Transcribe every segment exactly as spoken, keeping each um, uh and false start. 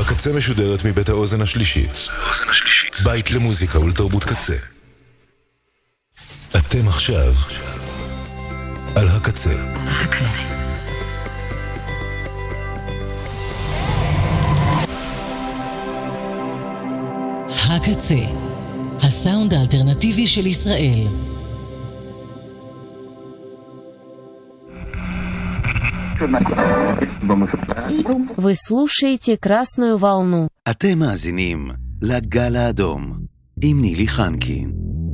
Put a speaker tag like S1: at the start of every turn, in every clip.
S1: הקצה משודרת מבית האוזן השלישית. בית למוזיקה ולתרבות קצה. אתם עכשיו על הקצה. הקצה.
S2: הקצה, הסאונד האלטרנטיבי של ישראל.
S3: Вы слушаете «Красную волну».
S4: אתם מאזינים לגל האדום עם נילי חנקין.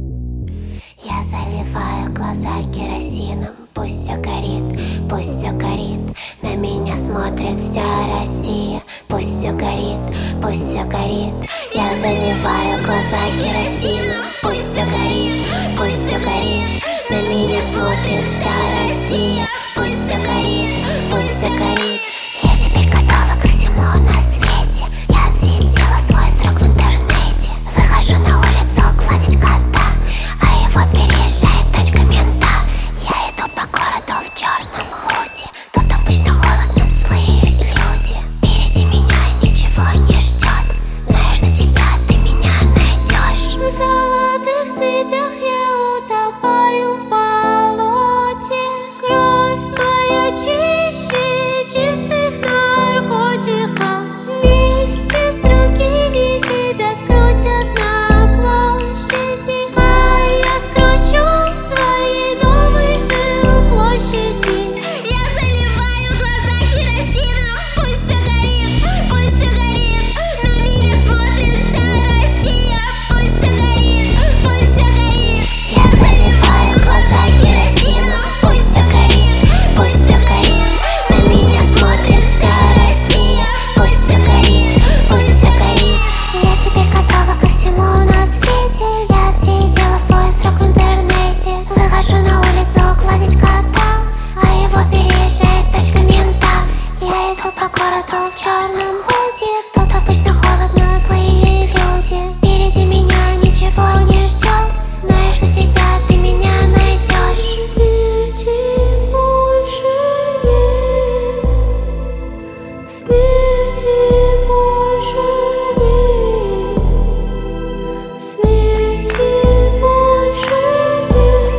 S5: Я заливаю глаза керосином, пусть все горит, пусть все горит. На меня смотрит вся Россия, пусть все горит, пусть все горит. Я заливаю глаза керосином, пусть все горит, пусть все горит. На меня смотрит вся Россия, пусть все горит, пусть все горит. Я теперь готова ко всему на свете. Я отсидела свой срок в интернете. Выхожу на улицу гладить кота, а его переезжает тачка мента. Я иду по городу в черном худи. Тут обычно холодно, злые люди. Впереди меня ничего не ждет, но я жду тебя, ты меня найдешь. В золотых цепях я утопаю в болоте. Кровь моя чище чистых наркотиков. Вместе с другими тебя скрутят на площади, а я скручу свои новые жилплощади. Я заливаю глаза керосином, пусть все горит, пусть все горит. На меня смотрит вся Россия, пусть все горит, пусть все горит. Я заливаю глаза керосином, пусть все горит, пусть все горит. На меня смотрит вся Россия, пусть все горит, пусть все горит. Я теперь готова ко всему на свете. Я отсидела свой срок в интернете. Выхожу на улицу гладить кота, а его переезжает тачка мента. Я иду по городу в черном худи. Тут обычно холодно, злые люди. Впереди меня ничего не ждет, но я жду тебя, ты меня найдешь. Смерти больше нет, смерти больше нет, смерти больше нет,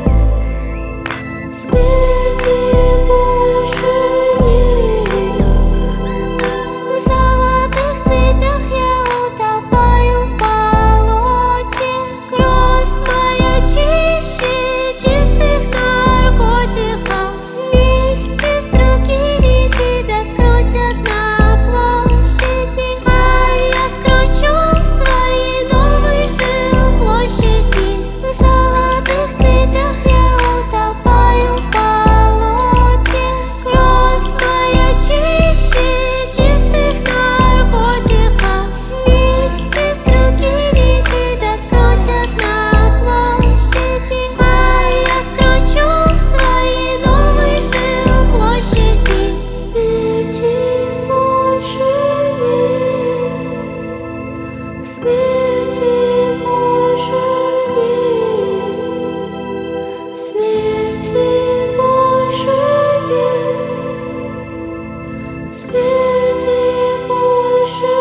S5: смерти больше нет. В золотых цепях я утопаю в болоте. Кровь моя чище чистых наркотиков. Вместе с другими тебя скрутят на площади, а я скручу свои новые жилплощади. В золотых цепях я утопаю в болоте. Кровь моя чище чистых наркотиков. Вместе с другими тебя скрутят на площади, а я скручу свои новые жилплощади. Смерти больше нет, смерти больше нет, смерти больше нет, смерти больше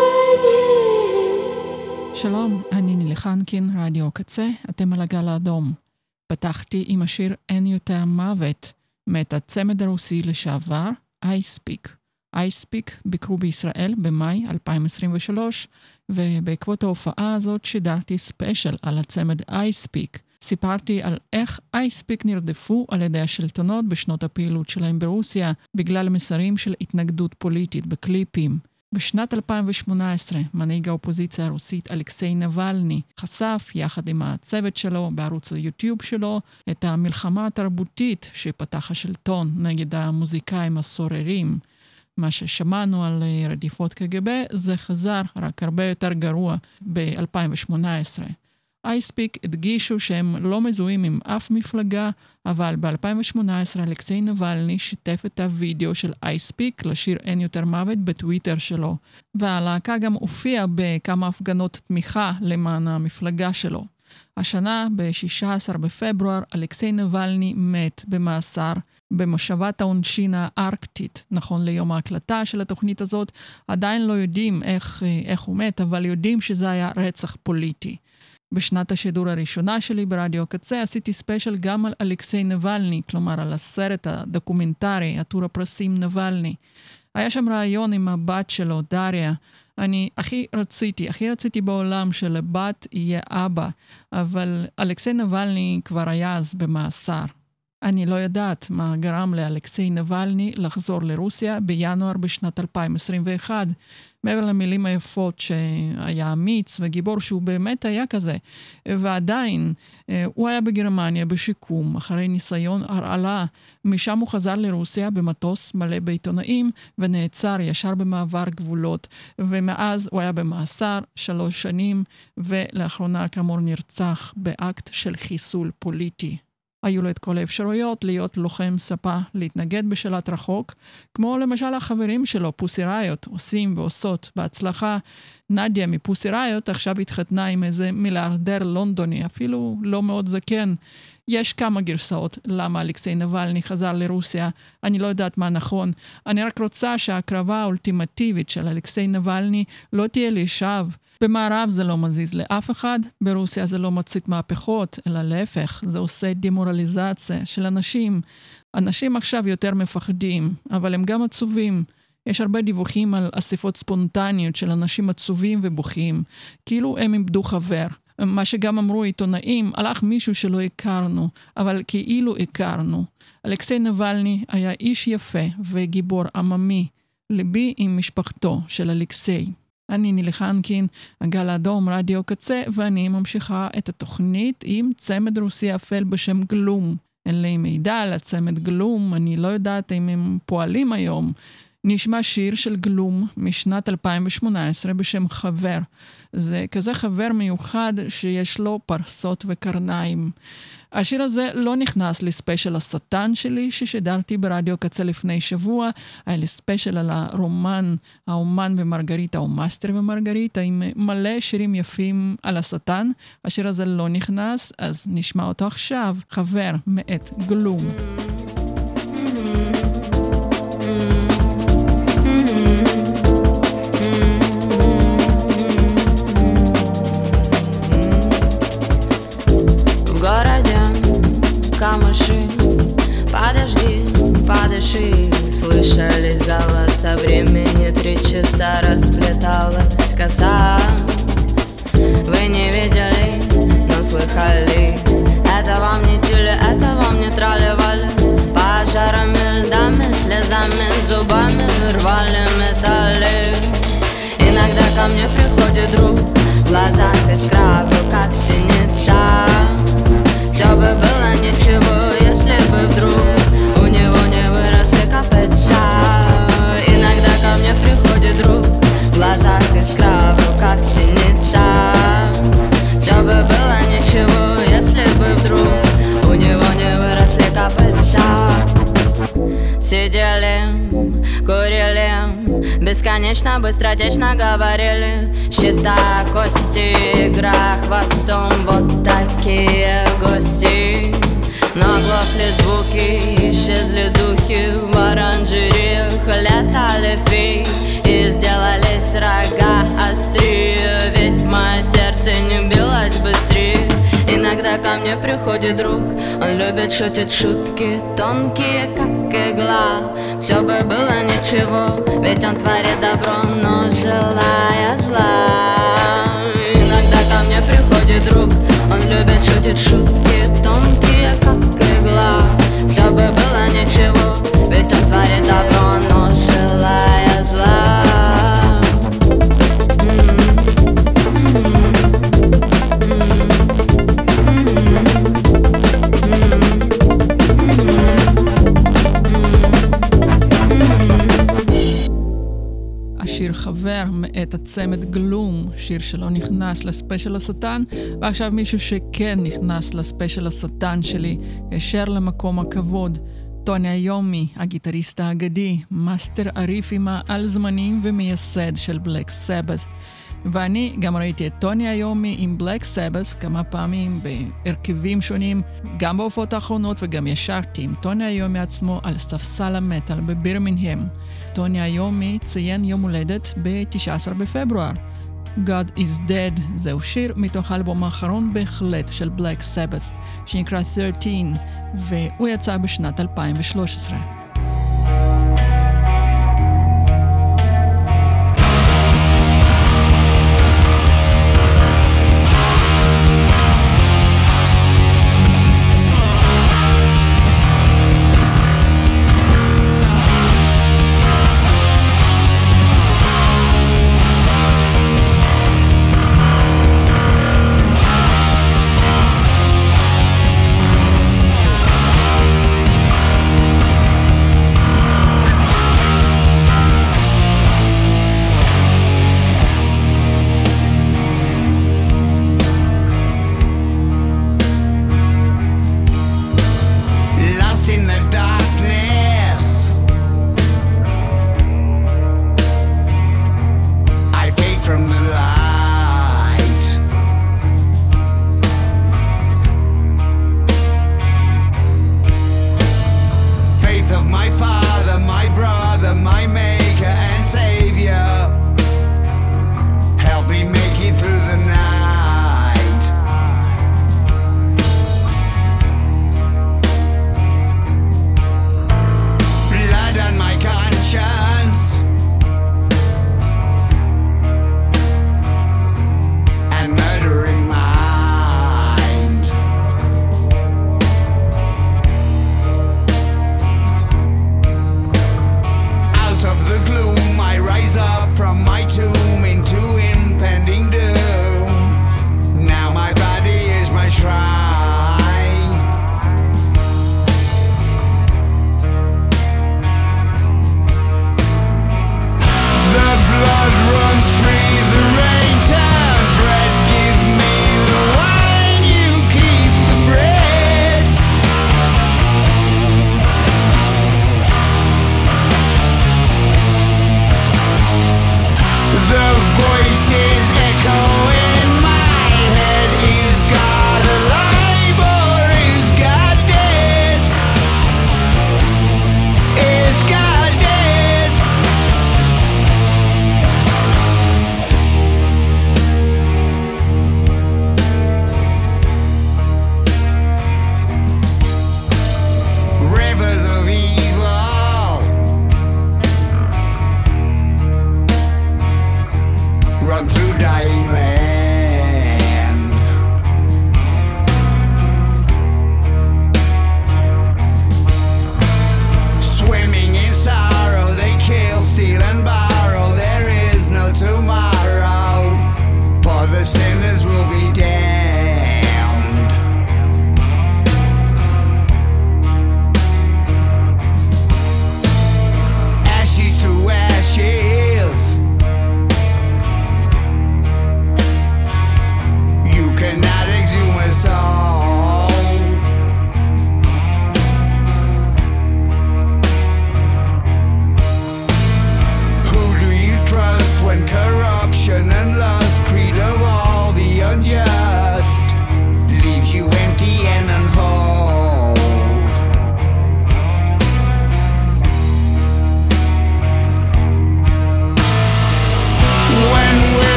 S5: нет.
S6: שלום, אני נילי חנקין, רדיו קצה, אתם על הגל האדום. פתחתי עם השיר אין יותר מוות, מאת הצמד הרוסי לשעבר, iSpeak. iSpeak ביקרו בישראל במאי אלפיים עשרים ושלוש, ובעקבות ההופעה הזאת שידרתי ספיישל על הצמד iSpeak. סיפרתי על איך iSpeak נרדפו על ידי השלטונות בשנות הפעילות שלהם ברוסיה, בגלל מסרים של התנגדות פוליטית בקליפים. בשנת אלפיים ושמונה עשרה, מנהיג האופוזיציה הרוסית אלכסיי נבלני חשף יחד עם הצוות שלו בערוץ היוטיוב שלו את המלחמה התרבותית שפתח השלטון נגד המוזיקאים הסוררים. מה ששמענו על רדיפות קג"ב זה חזר רק הרבה יותר גרוע ב-אלפיים ושמונה עשרה. iSpeak הדגישו שהם לא מזוהים עם אף מפלגה, אבל ב-אלפיים ושמונה עשרה אלכסיי נבלני שיתף את הוידאו של iSpeak לשיר אין יותר מוות בטוויטר שלו, והלהקה גם הופיעה בכמה הפגנות תמיכה למען המפלגה שלו. השנה, ב-שישה עשר בפברואר, אלכסיי נבלני מת במאסר במושבת העונשין הארקטית, נכון ליום ההקלטה של התוכנית הזאת, עדיין לא יודעים איך, איך הוא מת, אבל יודעים שזה היה רצח פוליטי. בשנת השידור הראשונה שלי ברדיו קצה עשיתי ספיישל גם על אלכסיי נבלני, כלומר על הסרט הדוקומנטרי, עטור הפרסים נבלני. היה שם רעיון עם הבת שלו, דריה. אני הכי רציתי, הכי רציתי בעולם שלבת יהיה אבא, אבל אלכסיי נבלני כבר היה אז במאסר. אני לא יודעת מה גרם לאלכסיי נבלני לחזור לרוסיה בינואר בשנת אלפיים עשרים ואחת. מעבר למילים היפות שהיה אמיץ וגיבור שהוא באמת היה כזה. ועדיין הוא היה בגרמניה בשיקום אחרי ניסיון הרעלה. משם הוא חזר לרוסיה במטוס מלא בעיתונאים ונעצר ישר במעבר גבולות. ומאז הוא היה במאסר שלוש שנים ולאחרונה כאמור נרצח באקט של חיסול פוליטי. היו לו את כל האפשרויות להיות לוחם ספה, להתנגד בשלט רחוק, כמו למשל החברים שלו, פוסי ראיות, עושים ועושות בהצלחה. נדיה מפוסי ראיות עכשיו התחתנה עם איזה מיליארדר לונדוני, אפילו לא מאוד זקן. יש כמה גרסאות למה אלכסיי נבלני חזר לרוסיה, אני לא יודעת מה נכון. אני רק רוצה שההקרבה האולטימטיבית של אלכסיי נבלני לא תהיה לשווא. במערב זה לא מזיז לאף אחד, ברוסיה זה לא מצית מהפכות, אלא להפך, זה עושה דמורליזציה של אנשים. אנשים עכשיו יותר מפחדים, אבל הם גם עצובים. יש הרבה דיווחים על אספות ספונטניות של אנשים עצובים ובוכים, כאילו הם איבדו חבר. מה שגם אמרו עיתונאים, הלך מישהו שלא הכרנו, אבל כאילו הכרנו. אלכסיי נבלני היה איש יפה וגיבור עממי, ליבי עם משפחתו של אלכסיי. אני נילי חנקין, הגל האדום, רדיו קצה, ואני ממשיכה את התוכנית עם צמד רוסי אפל בשם גלום. אין לי מידע על הצמד גלום, אני לא יודעת אם הם פועלים היום. נשמע שיר של גלום משנת אלפיים שמונה עשרה בשם חבר. זה כזה חבר מיוחד שיש לו פרסות וקרניים. השיר הזה לא נכנס לספיישל השטן שלי ששידרתי ברדיו קצה לפני שבוע. היה לי ספיישל על הרומן האומן ומרגריטה או מאסטר ומרגריטה עם מלא שירים יפים על השטן. השיר הזה לא נכנס, אז נשמע אותו עכשיו. חבר מאת גלום.
S7: Камыши, подожди, подыши. Слышались голоса времени, три часа расплеталась коса. Вы не видели, но слыхали. Это вам не тюли, это вам не трали-вали. Пожарами, льдами, слезами, зубами рвали металли. Иногда ко мне приходит друг, в глазах искра, в руках синица. Все бы было ничего, если бы вдруг у него не выросли копытца. Иногда ко мне приходит друг, в глазах искра, в руках синица. Все бы было ничего, если бы вдруг у него не выросли копытца. Сидели, курили, бесконечно, быстротечно говорили. Счета, кости, игра хвостом, вот такие гости. Но оглохли звуки, исчезли духи. В оранжереях летали феи и сделались рога острее. Ведь мое сердце не билось быстрее. Иногда ко мне приходит друг, он любит шутить шутки тонкие, как игла. Все бы было ничего, ведь он творит добро, но желая зла. Иногда ко мне приходит друг, он любит шутить шутки тонкие, как игла. Все бы было ничего, ведь он творит добро, но желая зла.
S6: השיר חבר מאת הצמד גלום, שיר שלא נכנס לספיישל השטן, ועכשיו מישהו שכן נכנס לספיישל השטן שלי, ישר למקום הכבוד. טוני איומי, הגיטריסט האגדי, מאסטר הריפים העל זמניים ומייסד של בלק סבת. ואני גם ראיתי את טוני איומי עם בלק סבת כמה פעמים בהרכבים שונים, גם בהופעות האחרונות, וגם ישרתי עם טוני איומי עצמו על ספסל המטל בבירמינגהם. טוני איומי ציין יום הולדת ב-תשעה עשר בפברואר. God is Dead זהו שיר מתוך האלבום האחרון בהחלט של בלק סבת שנקרא שלוש עשרה, והוא יצא בשנת אלפיים ושלוש עשרה.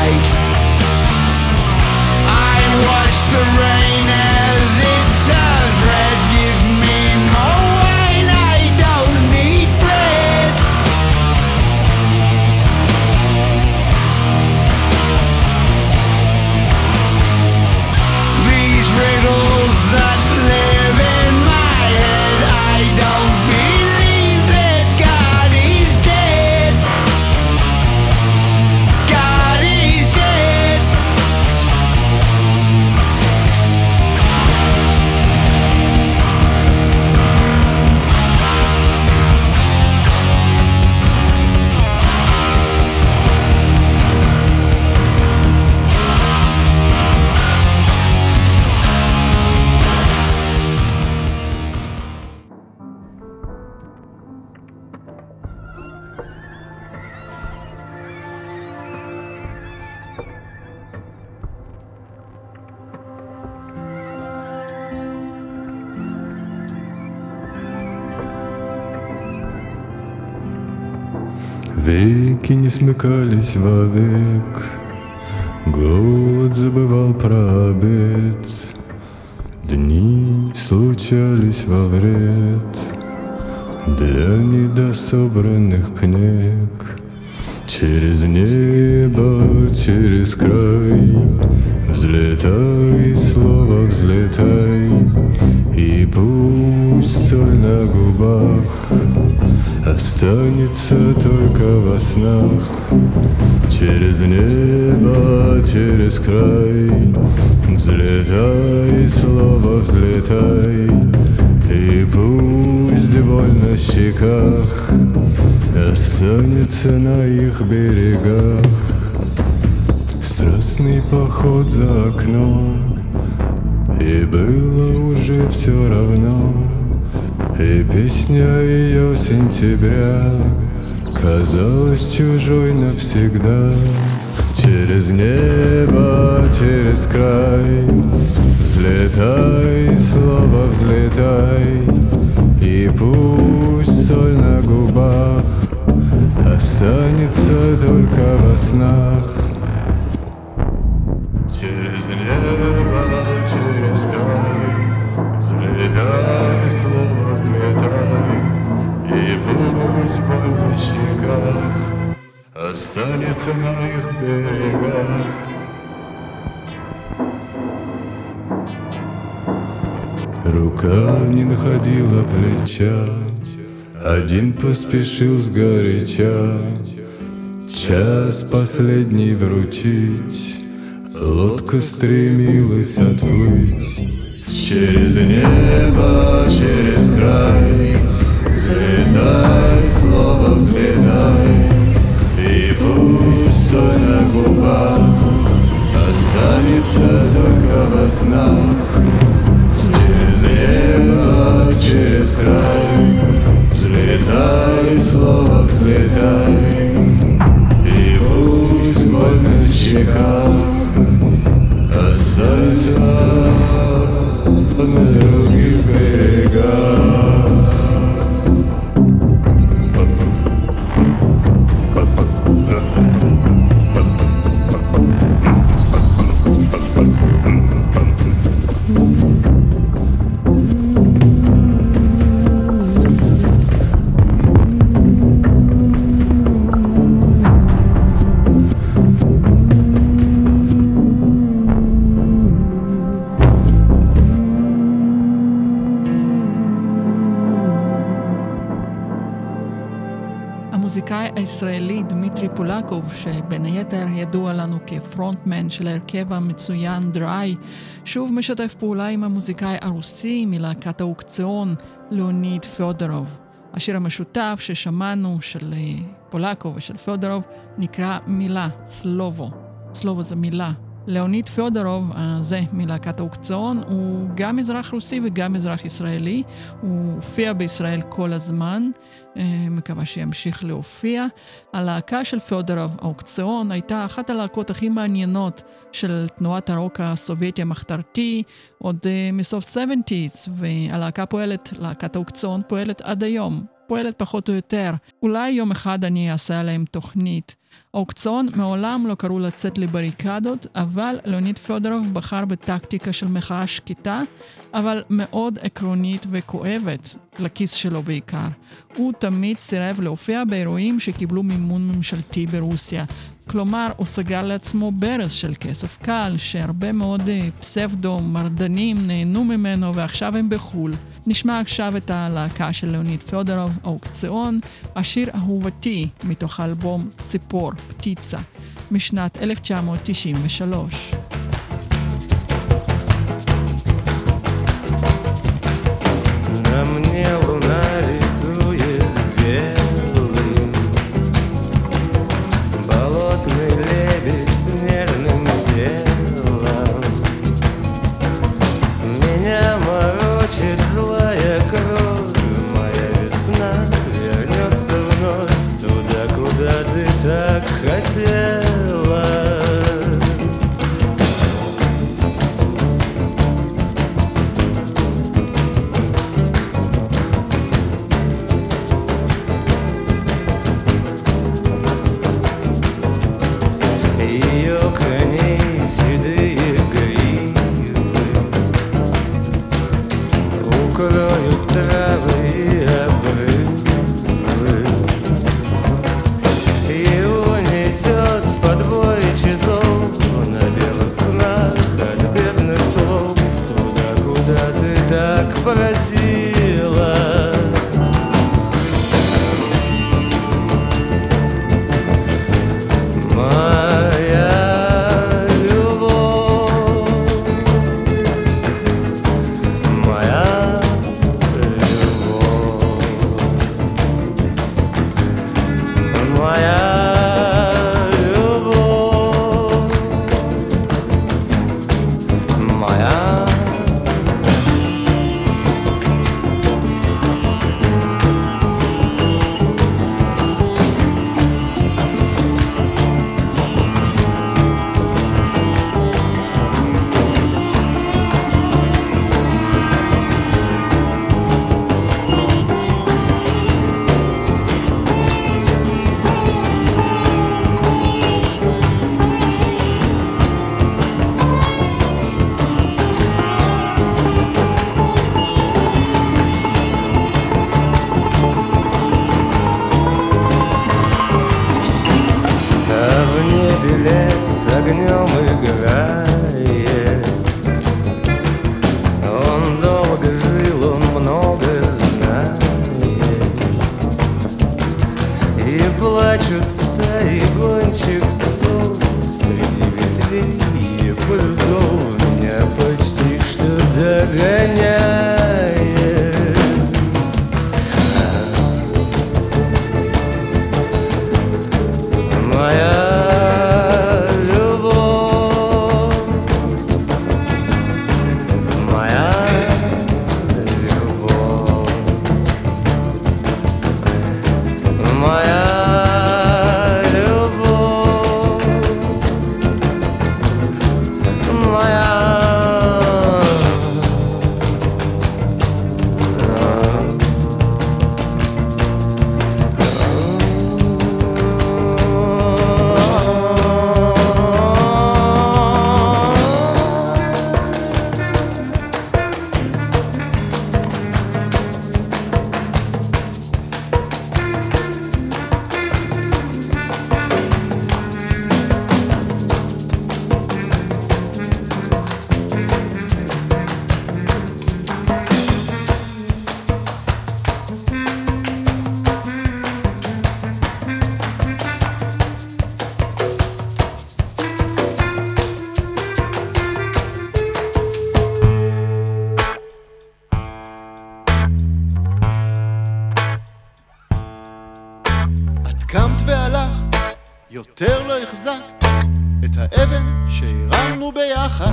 S8: light. I watch the rain as it turns red. Give me more wine, I don't need bread. These riddles that live in my head, I don't believe that God is dead. God is dead.
S9: Веки не смыкались вовек, голод забывал про обед, дни случались во вред для недособранных книг. Через небо, через край взлетай, слово взлетай, и пусть соль на губах останется только во снах. Через небо, через край взлетай, слово взлетай, и пусть боль на щеках останется на их берегах. Страстный поход за окном, и было уже все равно, и песня ее сентября казалась чужой навсегда. Через небо, через край взлетай, слово взлетай, и пусть соль на губах останется только во снах. Через небо, через край взлетай, слово взлетай, и пусть боль на щеках останется на их берегах. Рука не находила плеча, один поспешил сгоряча час последний вручить, лодка стремилась отплыть. Через небо, через край взлетай, слово взлетай, и пусть соль на губах останется только во снах. Через небо, через край взлетай, слово взлетай, и пусть боль на щеках останется на других берегах.
S6: המוזיקאי הישראלי דמיטרי פולקוב, שבין היתר ידוע לנו כפרונטמן של ההרכב המצוין דריי, שוב משתף פעולה עם המוזיקאי הרוסי מלהקת האוקציון ליאוניד פיודורוב. השיר המשותף ששמענו של פולקוב ושל פיודורוב נקרא מילה, סלובו. סלובו זה מילה. ליאוניד פיודורוב, זה מלהקת האוקציון, הוא גם אזרח רוסי וגם אזרח ישראלי. הוא הופיע בישראל כל הזמן, מקווה שימשיך להופיע. הלהקה של פיודורוב, האוקציון, הייתה אחת הלהקות הכי מעניינות של תנועת הרוק הסובייטי המחתרתי, עוד מסוף שבעים, והלהקה פועלת, להקת האוקציון פועלת עד היום. פועלת פחות או יותר. אולי יום אחד אני אעשה עליהם תוכנית. האוקציון מעולם לא קראו לצאת לבריקדות, אבל ליאוניד פדורוב בחר בטקטיקה של מחאה שקטה, אבל מאוד עקרונית וכואבת, לכיס שלו בעיקר. הוא תמיד סירב להופיע באירועים שקיבלו מימון ממשלתי ברוסיה. כלומר, הוא סגר לעצמו ברז של כסף קל, שהרבה מאוד פסבדו מרדנים נהנו ממנו ועכשיו הם בחול. נשמע עכשיו את הלהקה של ליאוניד פדורוב, האוקציון, השיר אהובתי מתוך האלבום ציפור, פטיצה, משנת אלף תשע מאות תשעים ושלוש.
S9: На мне луна рисует белым, болотный лебедь с нежным телом. Меня морочит злая кровь, моя весна вернется вновь туда, куда ты так хотела. Ее коней седые гривы укроют травы и обрывы, и унесет под бой часов на белых снах от бедных слов туда, куда ты так просила. Огнем играет. Он долго жил, он много знает. И плачут стаи гончих псов среди ветвей и парусов. Меня почти что догоняет. Моя
S10: קמת והלכת, יותר לא החזקת את האבן שהרמנו ביחד.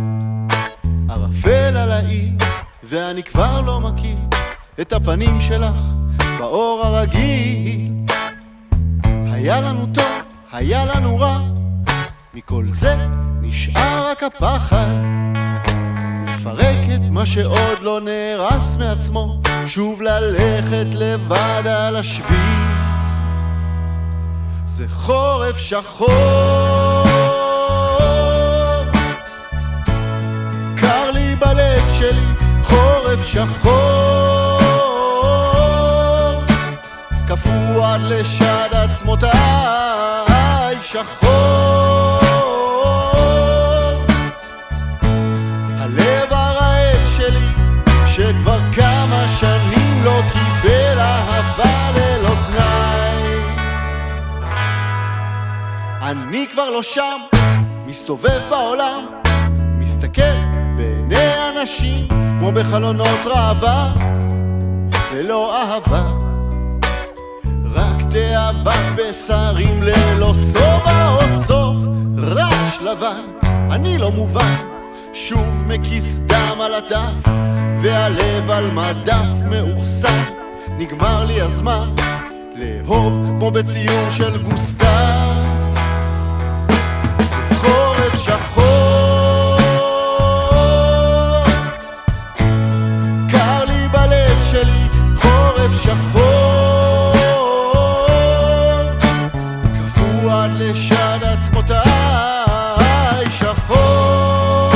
S10: ערפל על העיר, ואני כבר לא מכיר את הפנים שלך באור הרגיל. היה לנו טוב, היה לנו רע, מכל זה נשאר רק הפחד לפרק את מה שעוד לא נהרס מעצמו שוב ללכת לבד על השביל. זה חורף שחור, קר לי בלב שלי, חורף שחור, קפוא עד לשד עצמותיי, שחור. הלב הרעב שלי שכבר כמה שנים לא קיבל אהבה ללא תנאי. אני כבר לא שם, מסתובב בעולם, מסתכל בעיני אנשים כמו בחלונות ראווה, ללא אהבה, רק תאוות בשרים ללא סובה או סוף, רעש לבן, אני לא מובן, שוב מקיס דם על הדף, והלב על מדף מאוחסן, נגמר לי הזמן לאהוב כמו בציור של גוסטב. זה חורף שחור, קר לי בלב שלי, חורף שחור, קפוא עד לשד עצמותיי, שחור.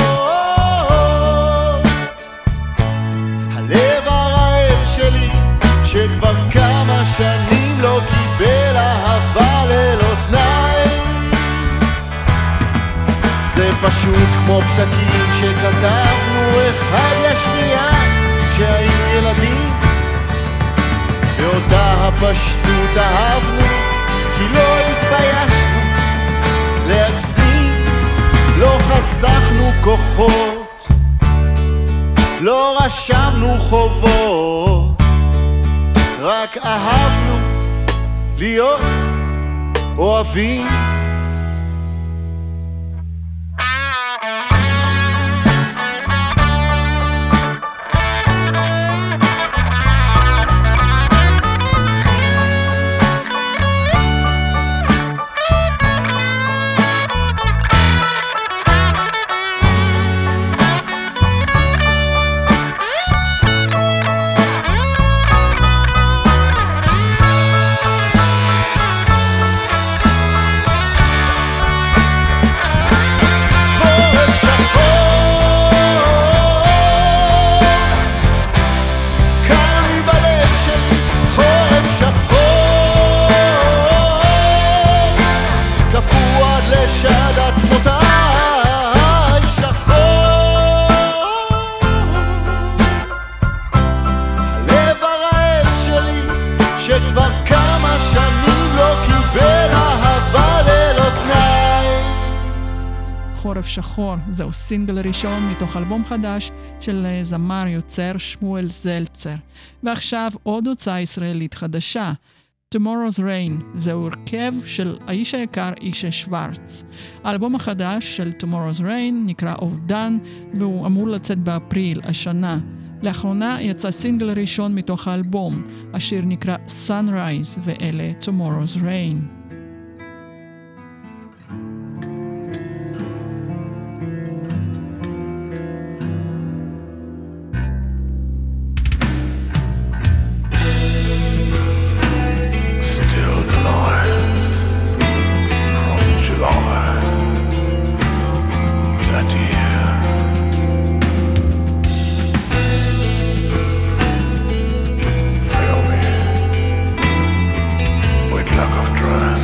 S10: הלב הרעב שלי שכבר כמה שנים לא קיבל אהבה ללא תנאי. זה פשוט כמו פתקים שכתבנו אחד לשנייה כשהיינו ילדים, באותה הפשטות אהבנו כי לא התביישנו להגזים, לא חסכנו כוחות, לא רשמנו חובות, רק אהבנו להיות אוהבים.
S6: שחור, זהו סינגל ראשון מתוך אלבום חדש של זמר יוצר שמואל זלצר. ועכשיו עוד הוצאה ישראלית חדשה, Tomorrow's Rain, זהו הרכב של האיש היקר אישה שוורץ. האלבום החדש של Tomorrow's Rain נקרא אובדן, והוא אמור לצאת באפריל השנה. לאחרונה יצא סינגל ראשון מתוך האלבום, השיר נקרא Sunrise, ואלה Tomorrow's Rain.
S11: Luck of drive.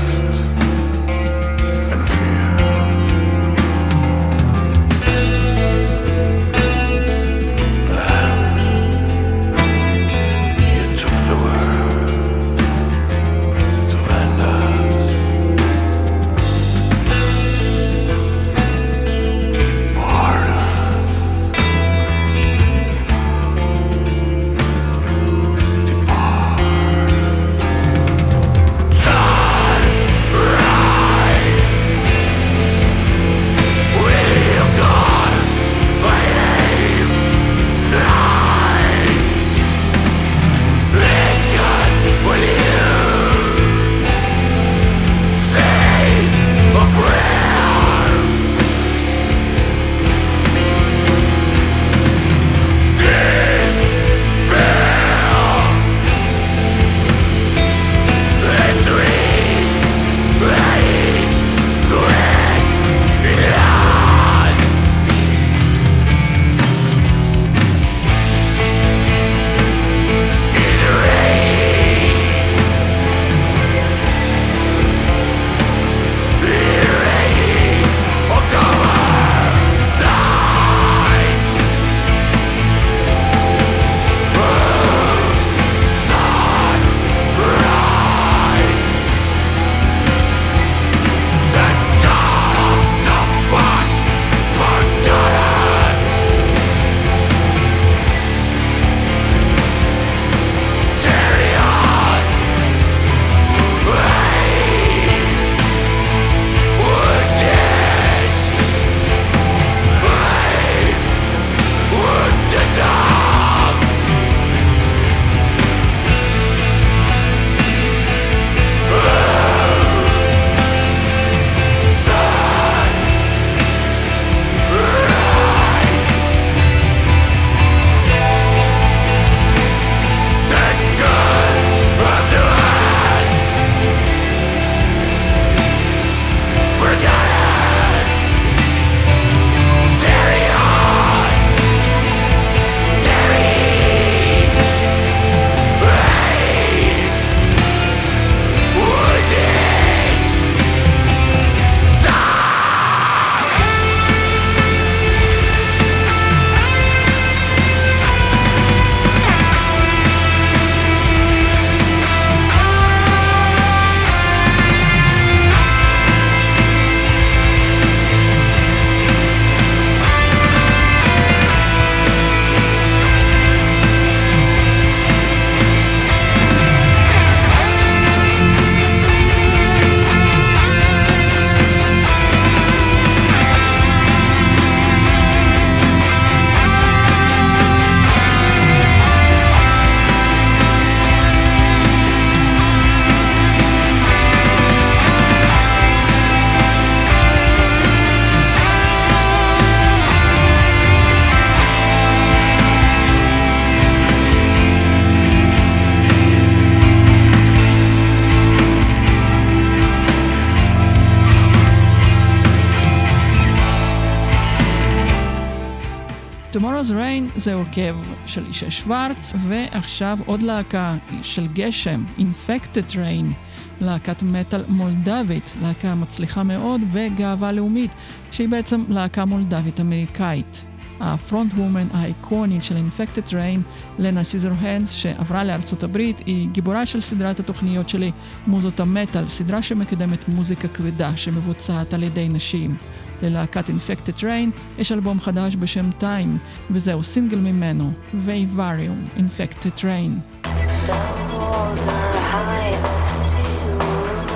S6: זה הרכב של אישה שוורץ, ועכשיו עוד להקה של גשם, Infected Rain, להקת מטל מולדבית, להקה מצליחה מאוד וגאווה לאומית, שהיא בעצם להקה מולדבית אמריקאית. הפרונט וומן האיקונית של Infected Rain, לנה סיזרהנדס, שעברה לארצות הברית, היא גיבורה של סדרת התוכניות שלי מוזות המטל, סדרה שמקדמת מוזיקה כבדה שמבוצעת על ידי נשים. ללהקת Infected Rain יש אלבום חדש בשם Time, וזהו סינגל ממנו, Vivarium, Infected Rain.
S11: The walls are high, the ceiling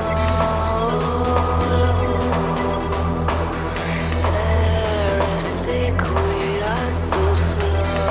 S11: low. There is thick, we are so slow.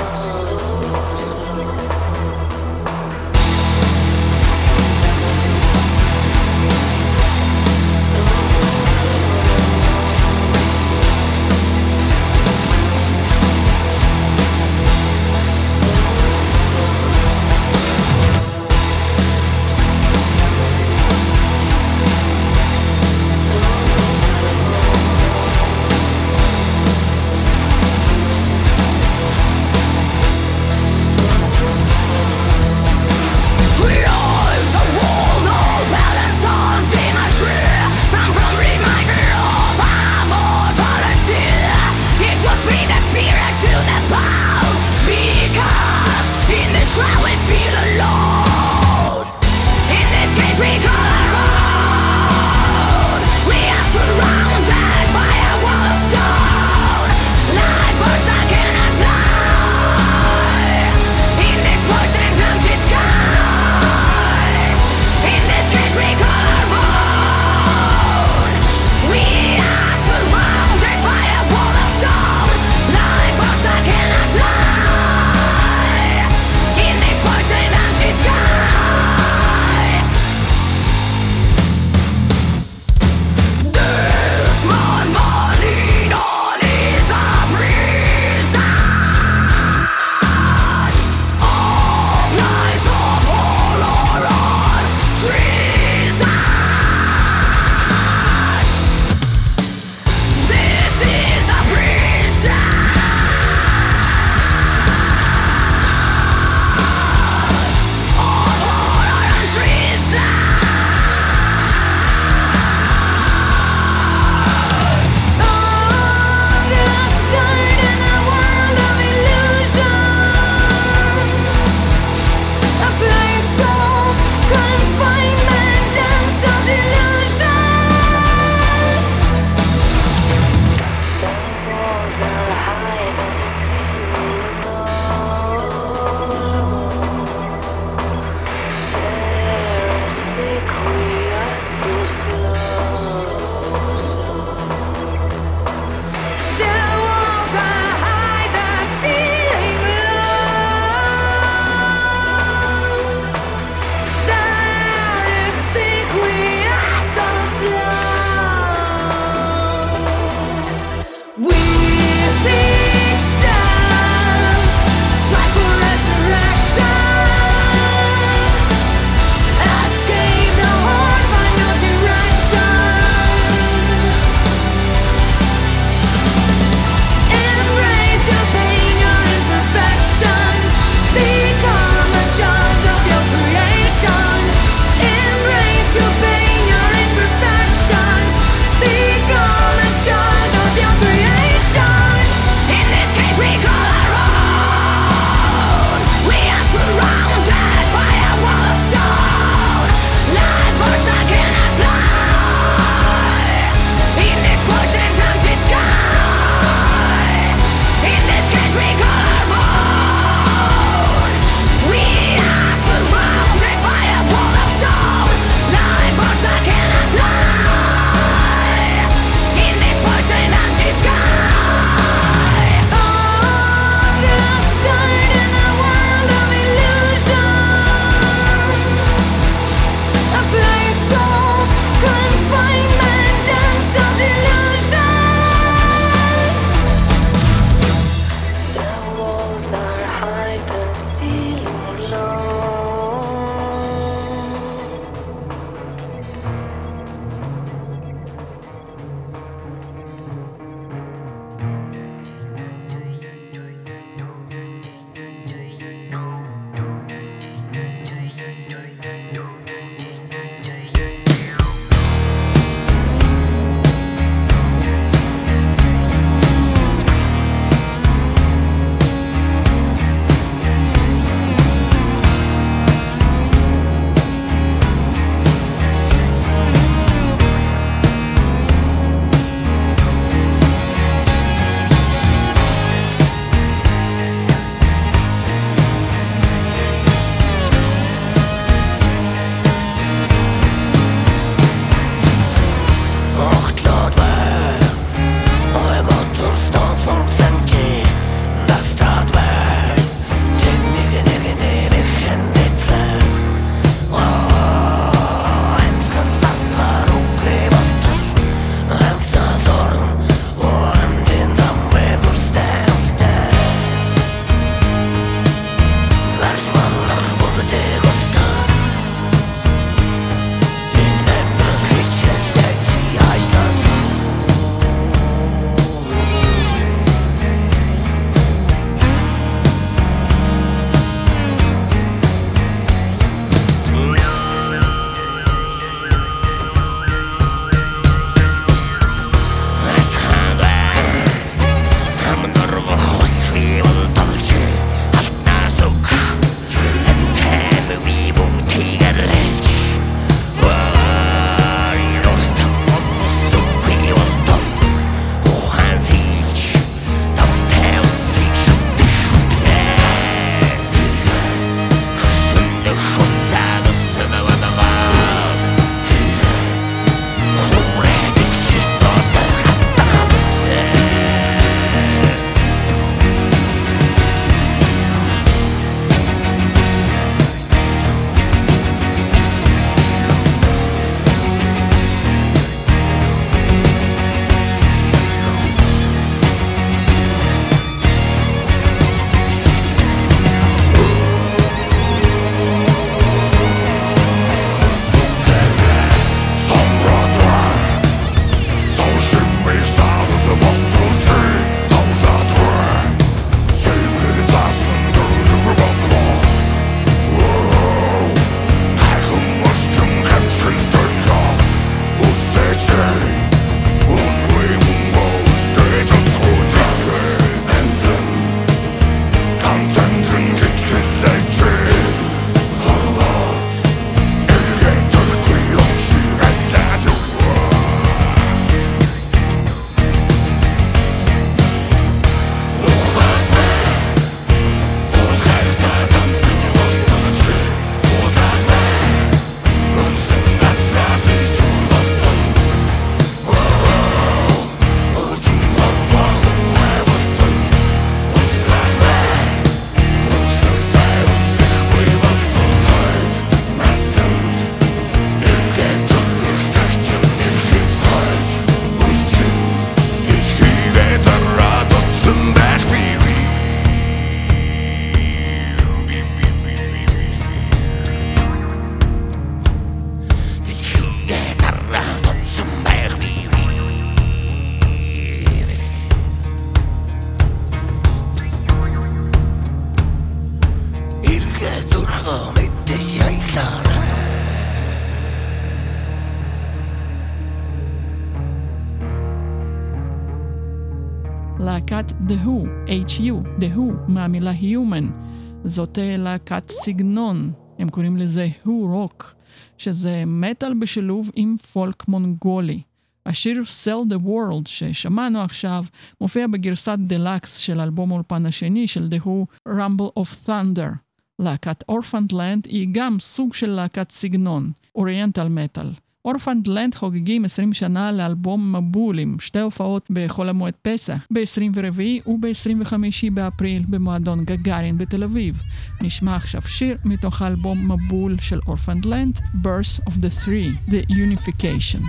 S6: The Who, H-U, The Who, מהמילה Human. זאת להקת סגנון, הם קוראים לזה Who Rock, שזה מטל בשילוב עם פולק מונגולי. השיר Sell the World ששמענו עכשיו מופיע בגרסת דלקס של אלבום אולפן השני של The Who, Rumble of Thunder. להקת Orphaned Land היא גם סוג של להקת סגנון, אוריינטל מטל. Orphaned Land חוגגים עשרים שנה לאלבום מבול עם שתי הופעות בחול המועד פסח, ב-עשרים וארבעה וב-עשרים וחמישה באפריל במועדון גגארין בתל אביב. נשמע עכשיו שיר מתוך האלבום מבול של Orphaned Land, Birth of the Three, The Unification.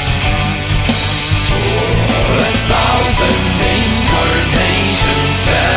S12: Thousand incarnations.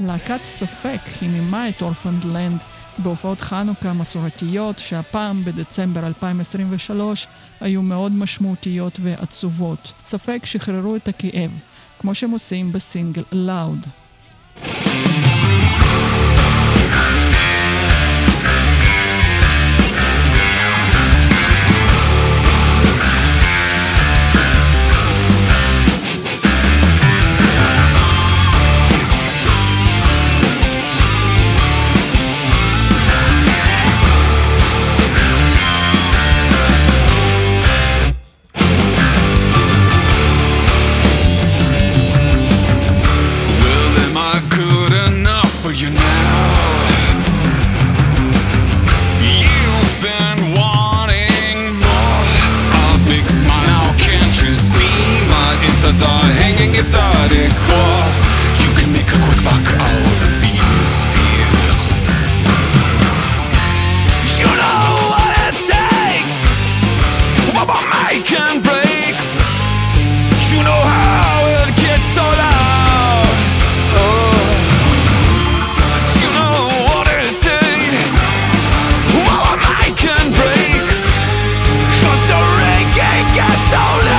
S6: להקת ספק חיממה את אורפנדלנד בהופעות חנוכה מסורתיות שהפעם בדצמבר אלפיים עשרים ושלוש היו מאוד משמעותיות ועצובות. ספק שחררו את הכאב, כמו שהם עושים בסינגל Loud.
S12: Are hanging inside a core. You can make a quick buck out of these fears. You know what it takes. What my mind can break. You know how it gets so loud. Oh, you know what it takes. What my mind can break. 'Cause the reggae gets so loud.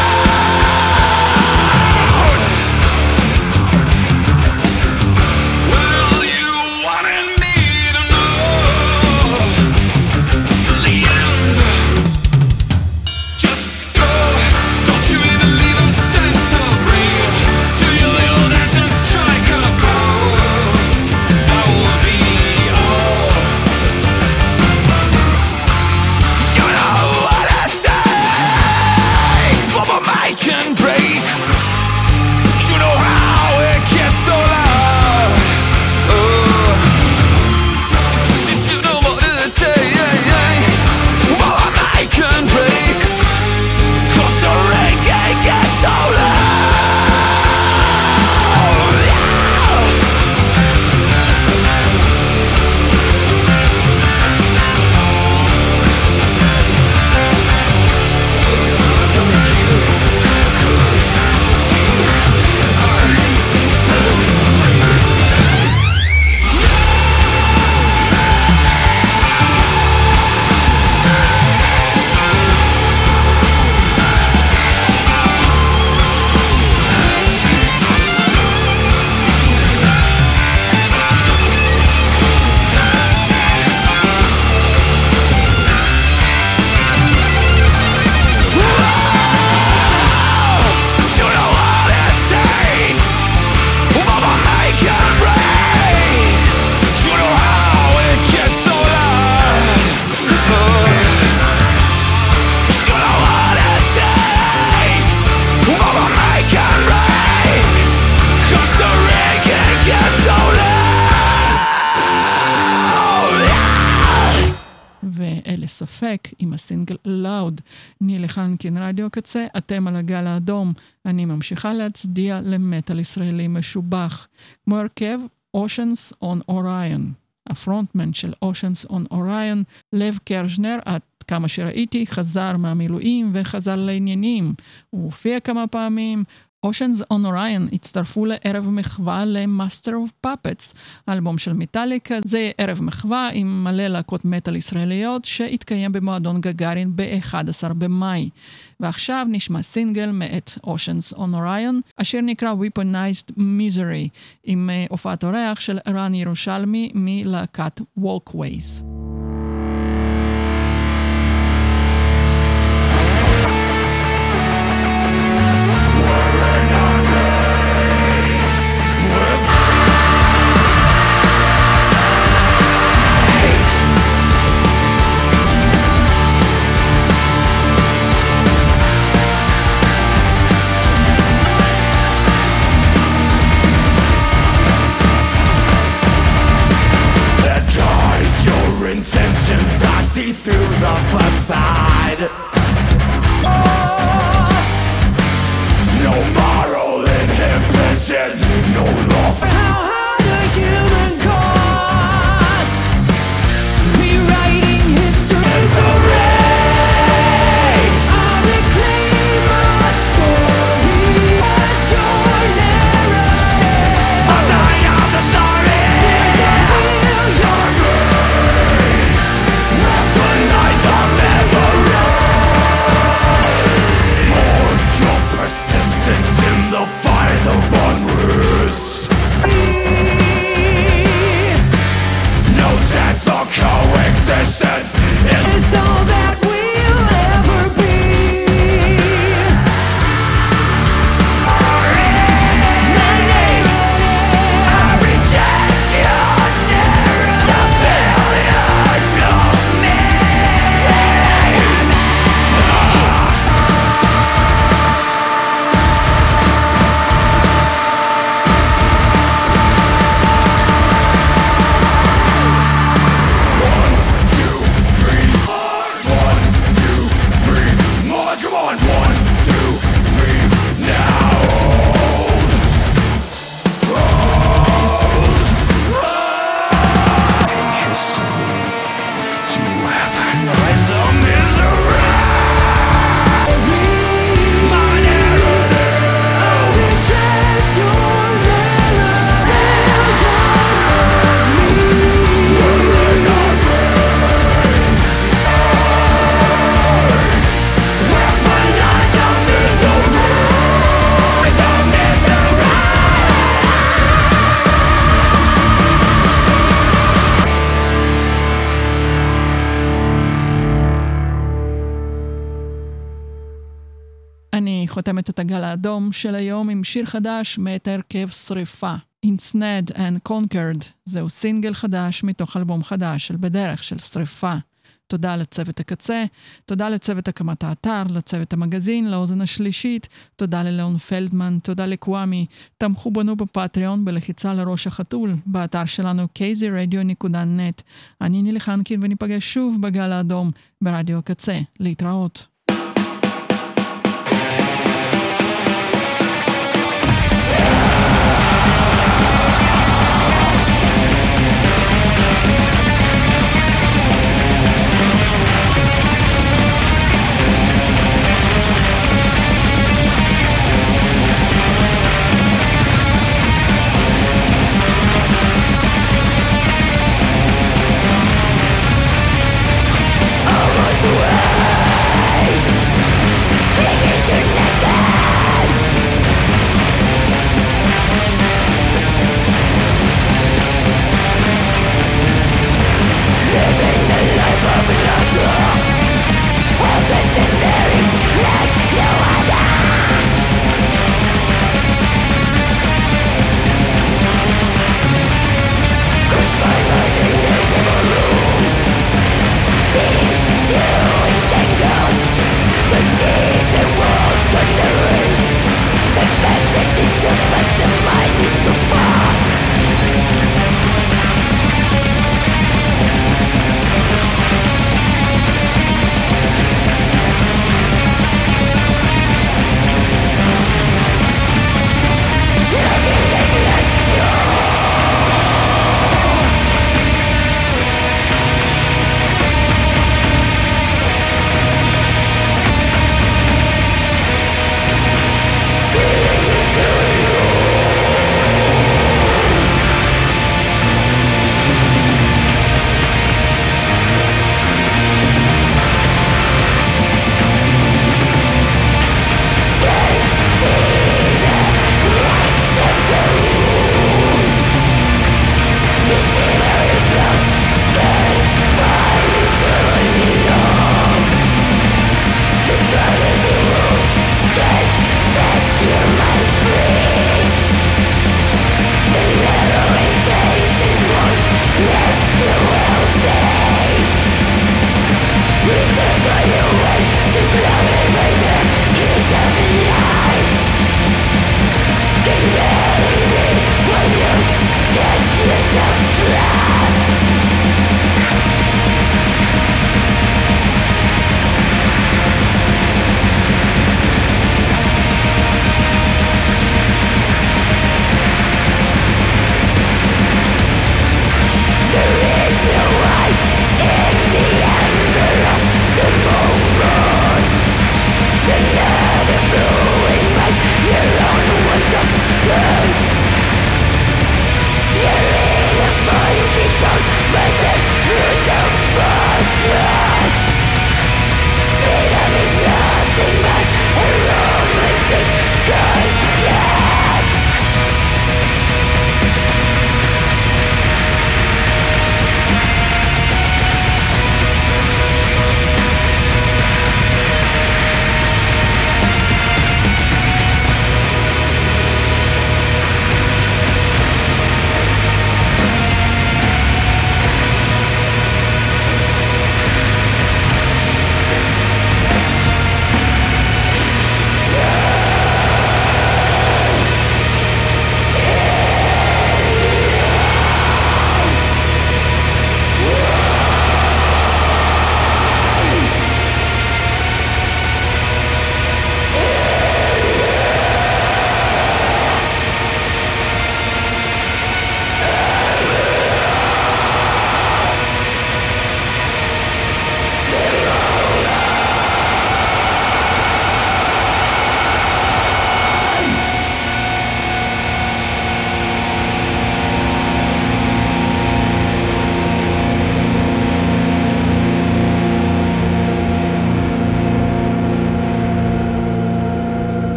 S6: ספק עם הסינגל Loud. נילי חנקין, רדיו קצה, אתם על הגל האדום. אני ממשיכה להצדיע למטל ישראלי משובח, כמו הרכב Oceans on Orion. הפרונטמן של Oceans on Orion, לב קרשנר, עד כמה שראיתי, חזר מהמילואים וחזר לעניינים. הוא הופיע כמה פעמים. Oceans on Orion הצטרפו לערב מחווה ל-Master of Puppets, האלבום של מטאליקה. זה ערב מחווה עם מלא להקות מטל ישראליות שהתקיים במועדון גגארין ב-אחד עשר במאי. ועכשיו נשמע סינגל מאת Oceans on Orion, אשר נקרא Weaponized Misery, עם הופעת אורח של רן ירושלמי מלהקת Walkways.
S12: You're in
S6: חותמת את הגל האדום של היום עם שיר חדש מאת הרכב שריפה. Ensnared and Conquered, זהו סינגל חדש מתוך אלבום חדש של בדרך של שריפה. תודה לצוות הקצה, תודה לצוות הקמת האתר, לצוות המגזין, לאוזן השלישית, תודה ללאון פלדמן, תודה לקוואמי, תמכו בנו בפטריון בלחיצה לראש החתול, באתר שלנו קייזי רדיו נקודה נט. אני נילי חנקין וניפגש שוב בגל האדום ברדיו הקצה. להתראות.